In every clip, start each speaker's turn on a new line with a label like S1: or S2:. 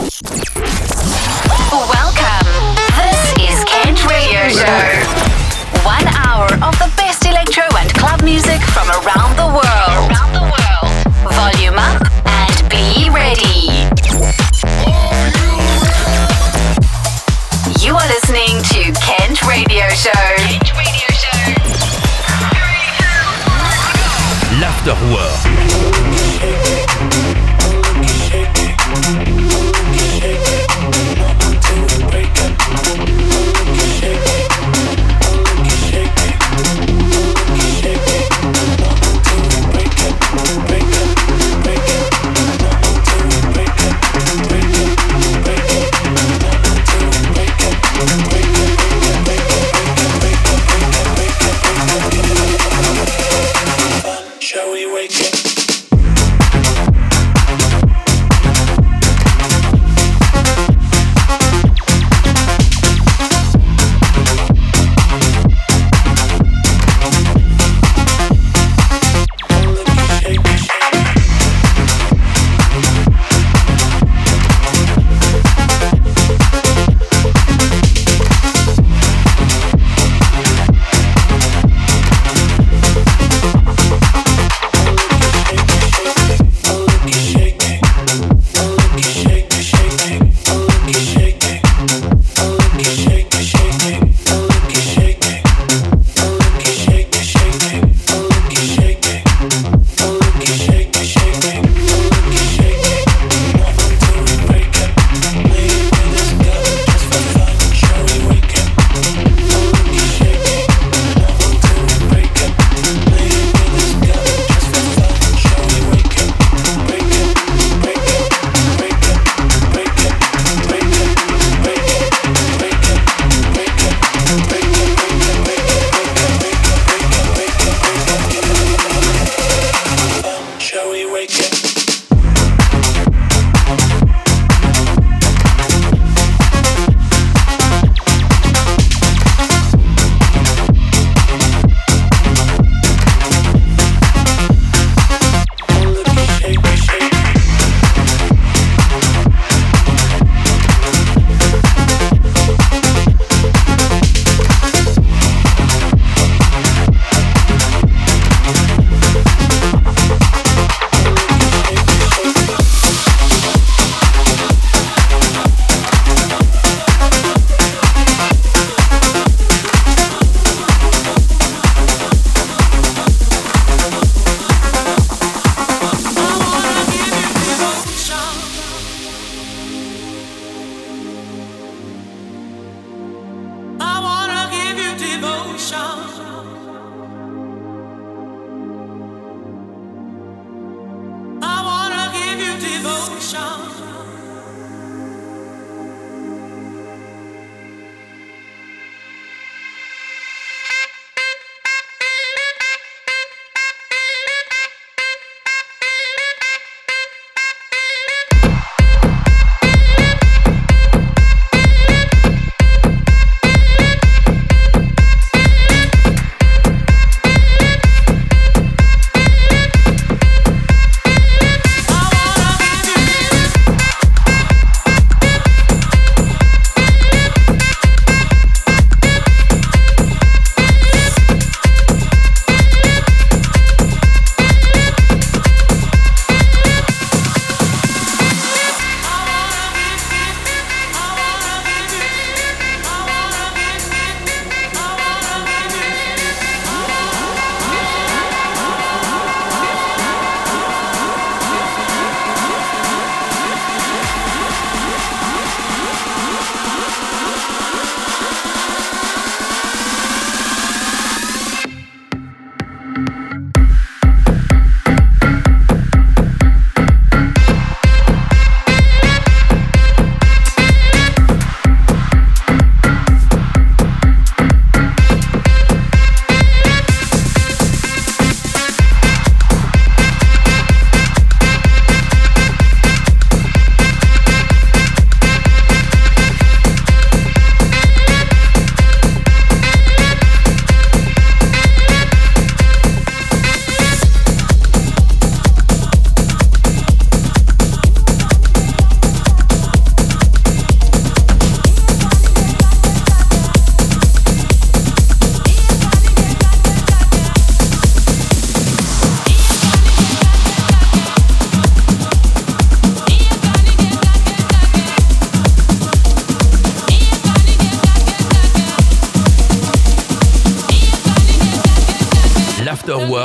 S1: Welcome. This is Kent Radio Show. 1 hour of the best electro and club music from around the world. Volume up and be ready. You are listening to Kent Radio Show.
S2: L'Afterwork.
S3: Break it.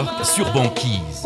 S2: York sur Banquise.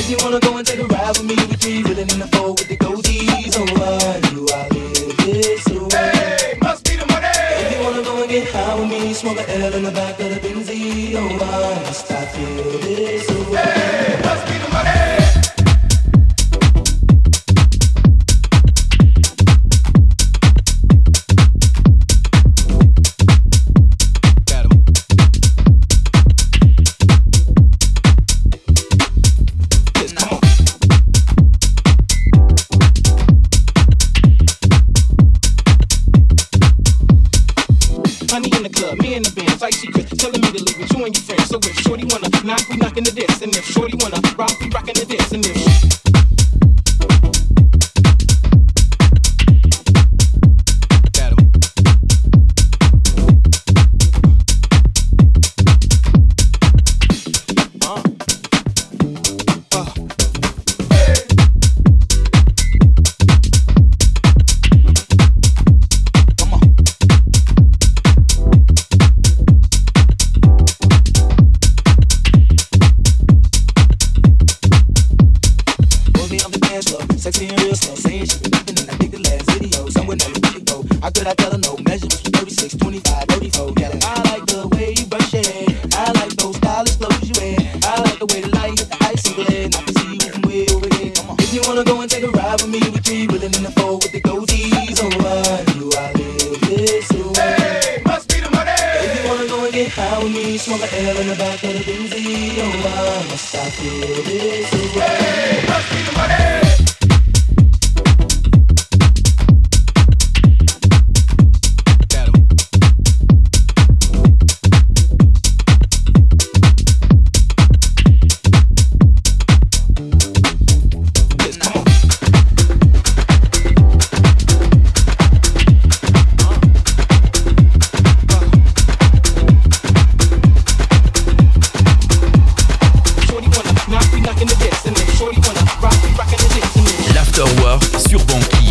S2: If you wanna go and take a ride with me, we three wheeling in the four with the goatees. Oh, why do I live this way? Hey, must be the money. If you wanna go and get high with me, smoke a L in the back of the Benzie. Oh, why must I feel this way? Hey, must be the money.
S3: Knock, we knockin' the diss, and if shorty wanna rock, we rockin' the diss, and if
S2: sexy and real slow, saying she been rapping and I think the last video. Somewhere never really go. How could I tell her no? Measurements from 36, 25, 34. Yeah, I like the way you brush your hair. I like those stylish clothes you wear. I like the way the light hit the ice and glare. And I can see you from way over there. Come on. If you wanna go and take a ride with me, we three wheeling in the four with the goatees. Oh, why do I live this way? Hey, must be the money. If you wanna go and get high with me, smoke a L in the back of the Benzie. Oh, why must I feel this way? Hey, must be the money.
S4: Sur Banquise.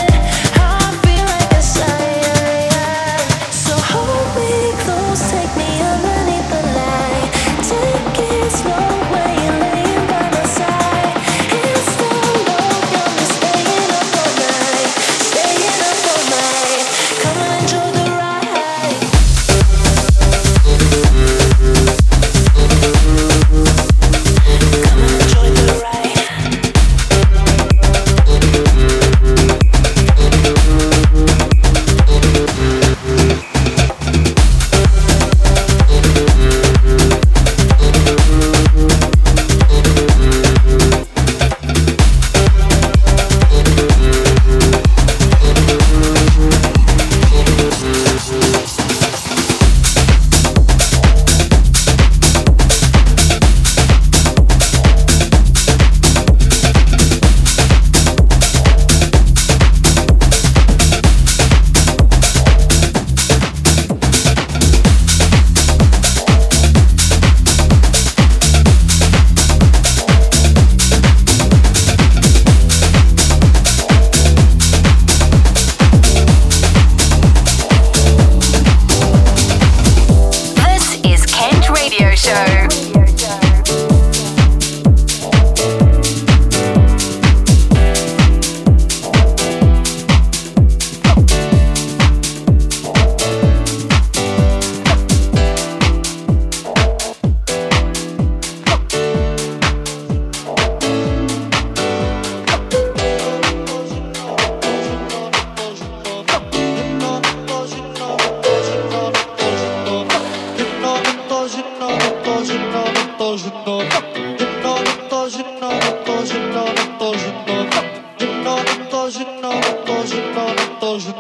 S5: Take me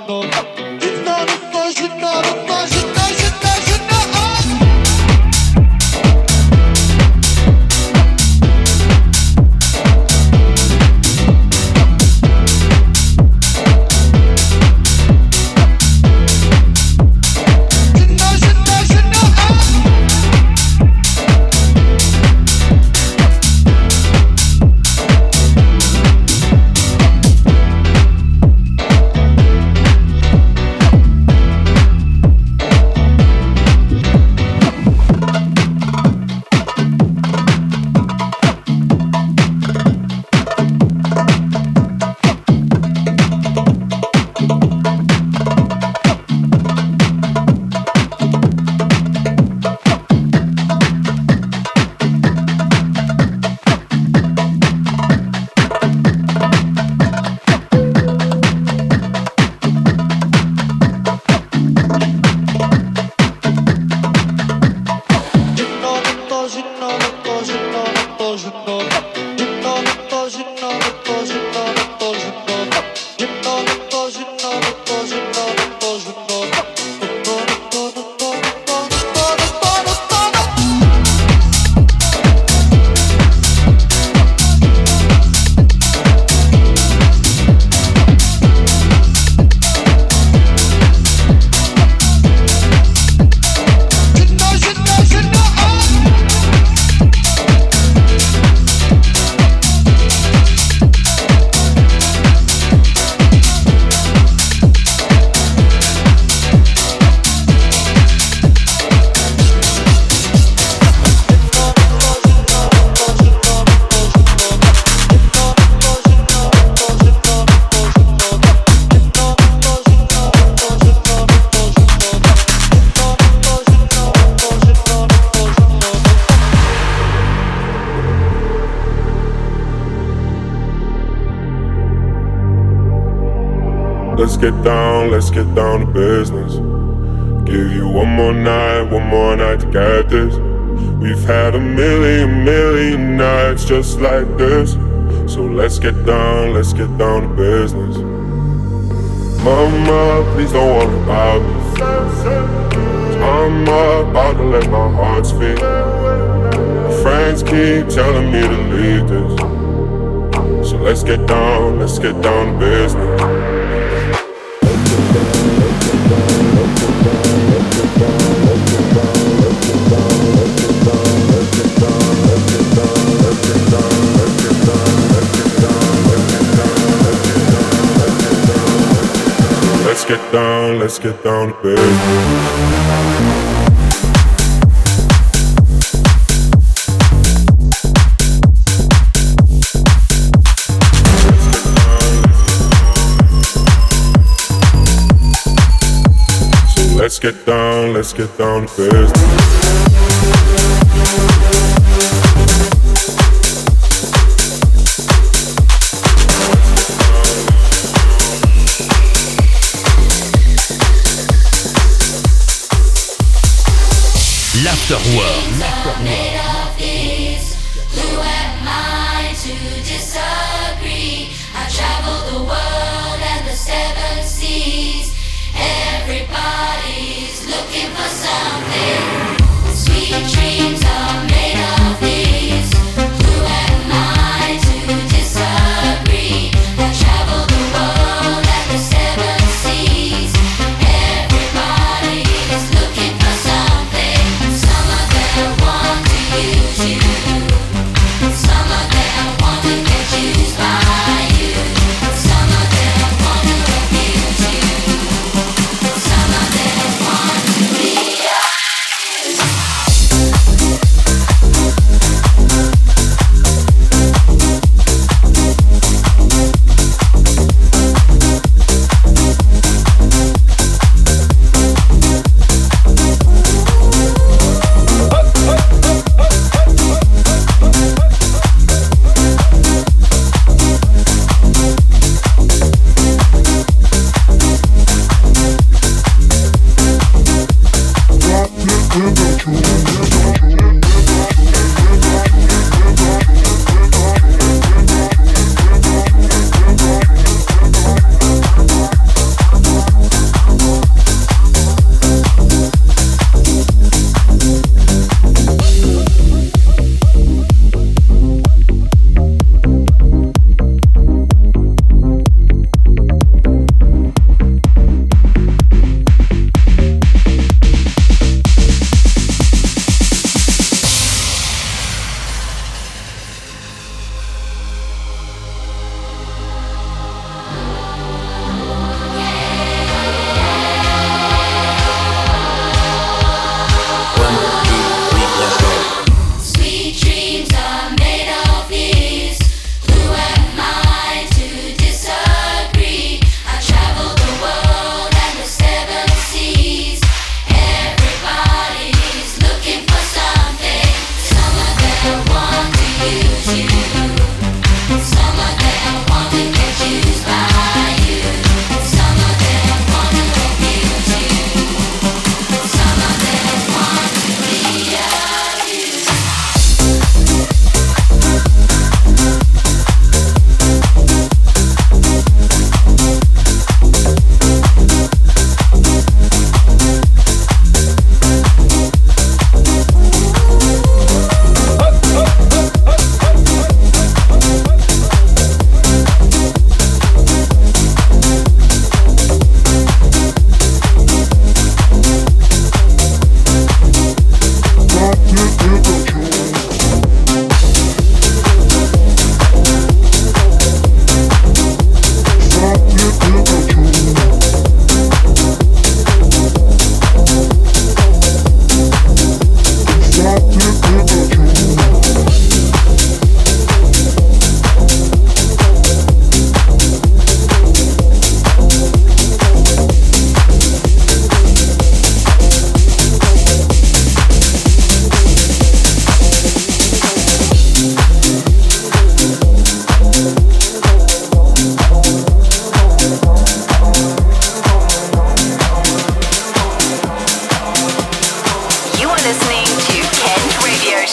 S5: Let's get down to business. Give you one more night to get this. We've had a million nights just like this. So let's get down to business. Mama, please don't worry about me. I'm about to let my heart speak. My friends keep telling me to leave this. So let's get down to business. Let's get down to business. Let's get down to business.
S4: L'Afterwork.
S6: Made of these, who am I to disagree? I travel the world and the seven seas. Everybody's looking for something. Sweet dreams are made of these. Who am I to disagree? I travel the world and the seven seas. Everybody's looking for something. Some of them want to use you. Some of them want to get used by you. Some of them want to abuse you. Some of them want to be yours.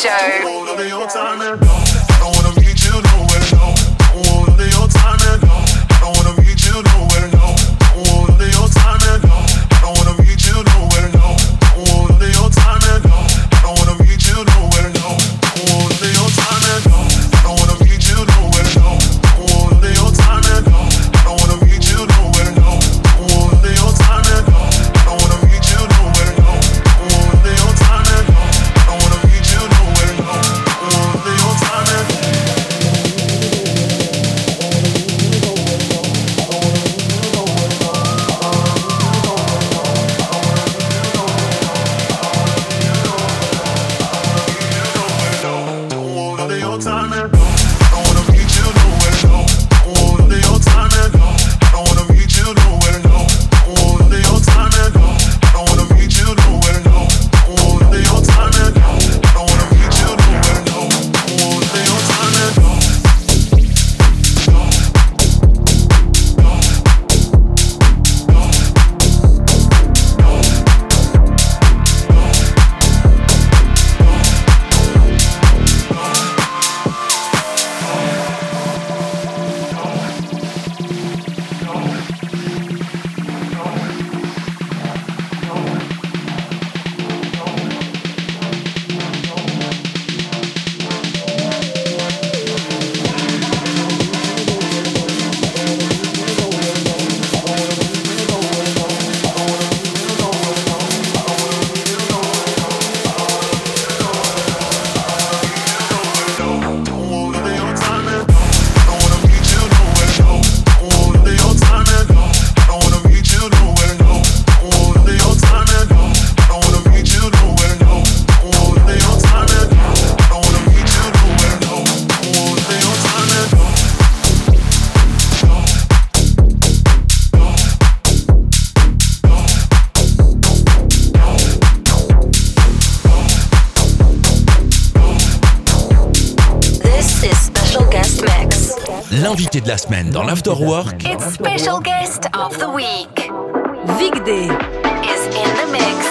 S4: L'invité de la semaine dans l'Afterwork.
S1: It's special guest of the week.
S7: Vic Day
S1: is in the mix.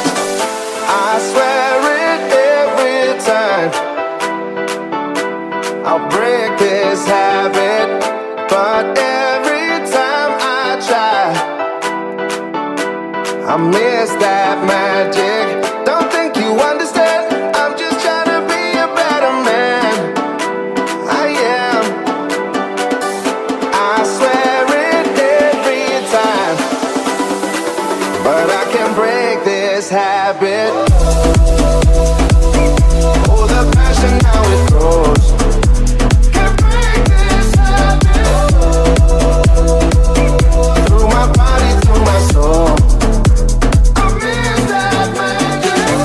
S8: I swear it every time. I'll break this habit, but every time I try, I miss that magic. Don't think you understand. I'm just trying to be a better man. I am. I swear it every time, but I can't break this habit. Oh, the passion, how it grows. Can't break this habit. Through my body, through my soul. I miss that magic.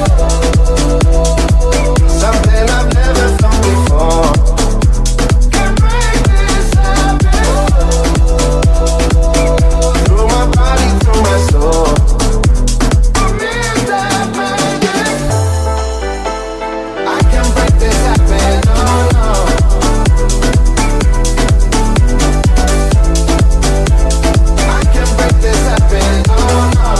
S8: Something I've never felt before. Can't break this habit. Through my body, through my soul. I miss that magic. I can't break this habit, no, no. I can't break this habit, no, no.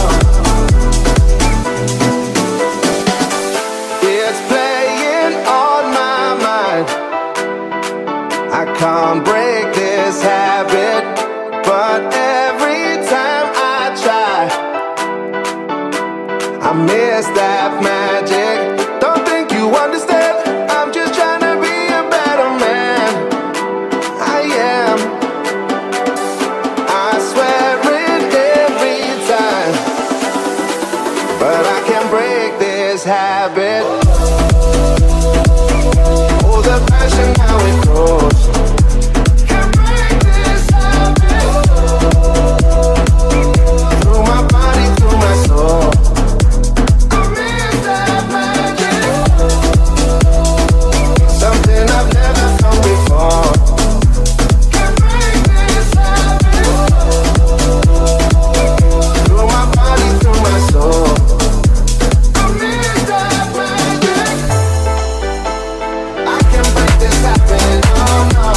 S8: It's playing on my mind. I can't break this habit, but every time I try, I miss that magic. Don't think you understand. I'm just trying to be a better man. I am. I swear it every time, but I can't break this habit. Oh, the passion, how it grows. Can't break this habit. Through my body, through my soul. I miss that magic. Something I've never felt before. Can't break this habit. Through my body, through my soul. I miss that magic. I can't break this habit, no, no.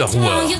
S4: l'Afterworld.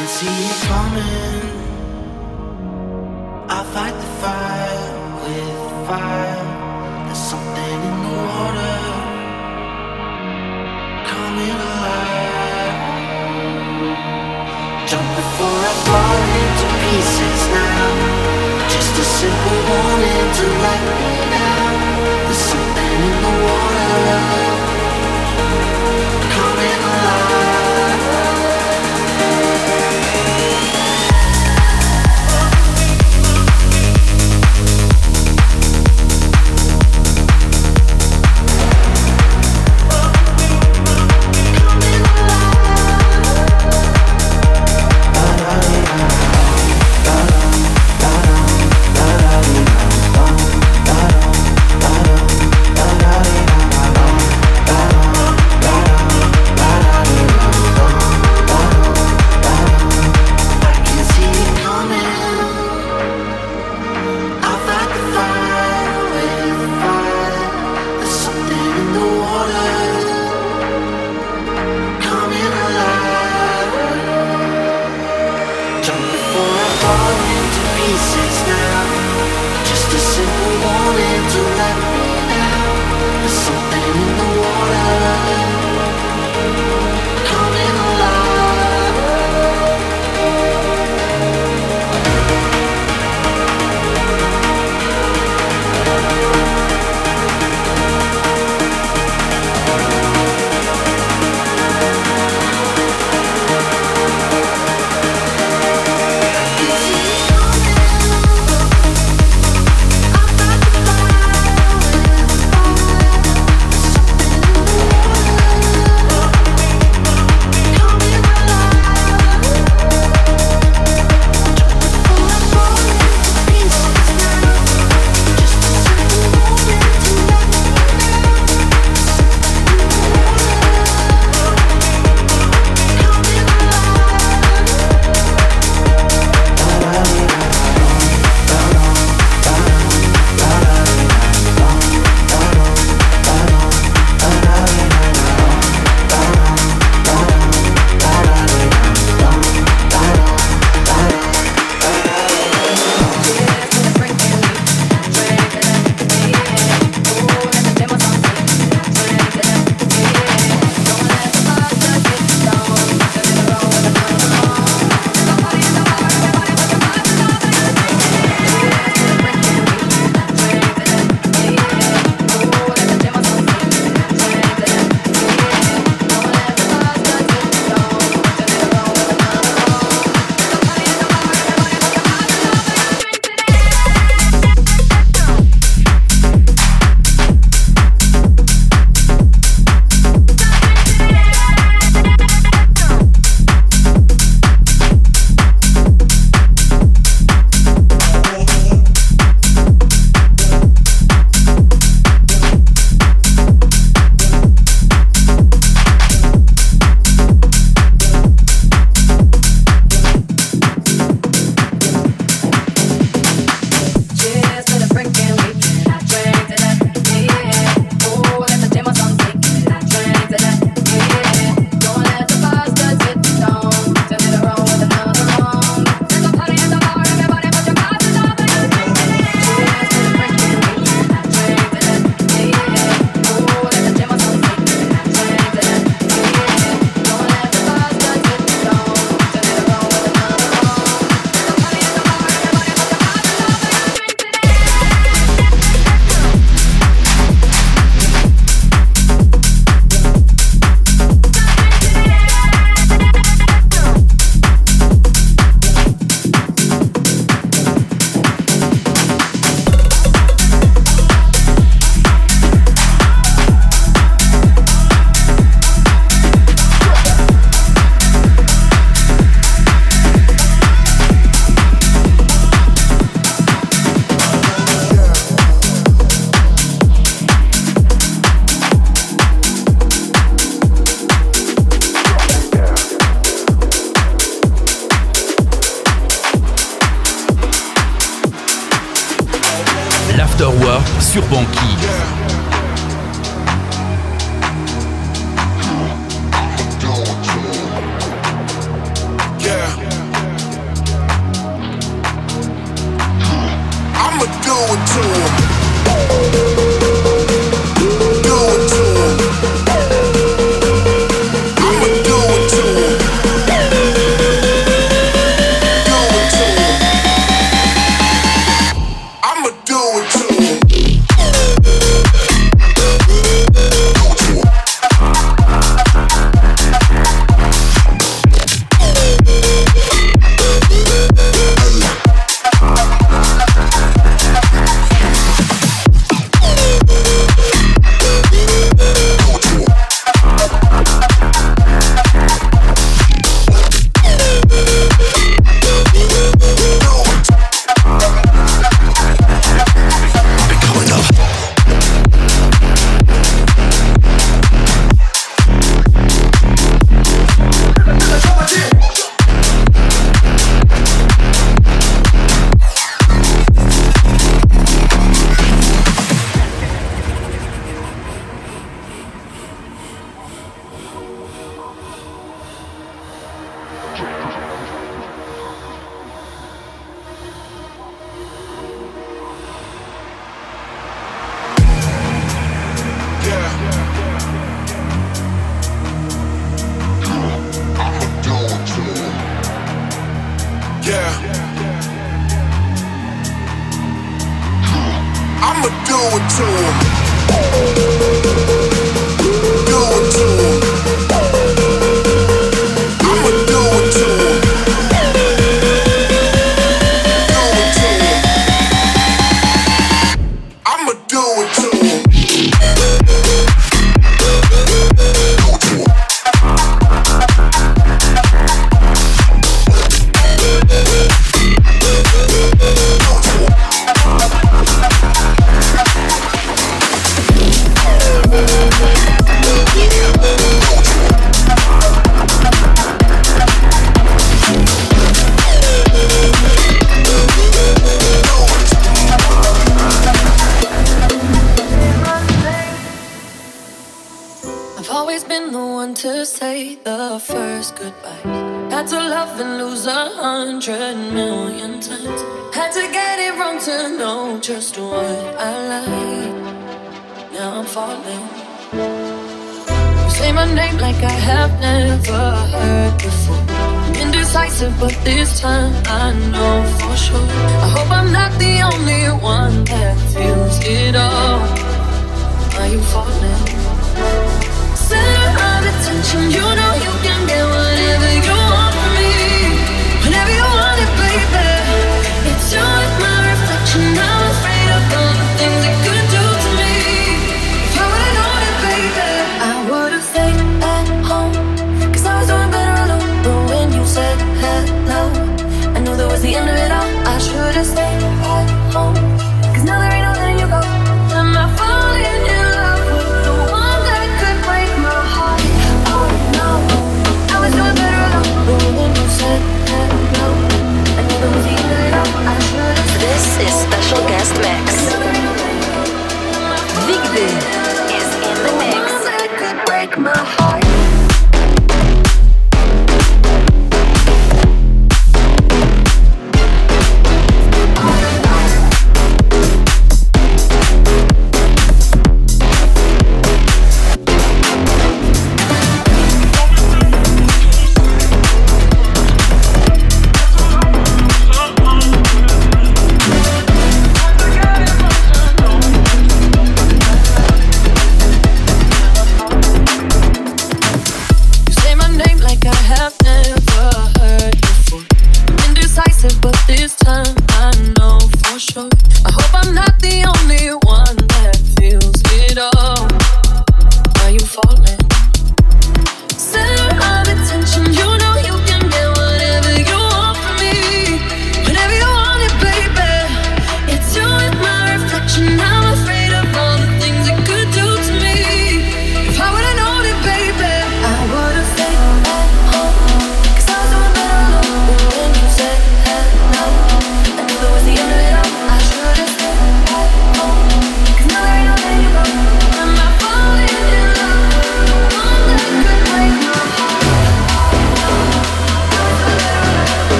S2: can see it coming. I fight the fire with fire. There's something in the water coming alive. Jump before I fall into pieces now. Just a simple warning to let me down. There's something in the water coming alive.
S4: l'Afterwork sur Banquille.
S7: Yeah. one to say the first goodbye. Had to love and lose 100,000,000 times. Had to get it wrong to know just what I like. Now I'm falling. You say my name like I have never heard before. Indecisive, but this time I know for sure. I hope I'm not the only one that feels it all. Are you falling? Say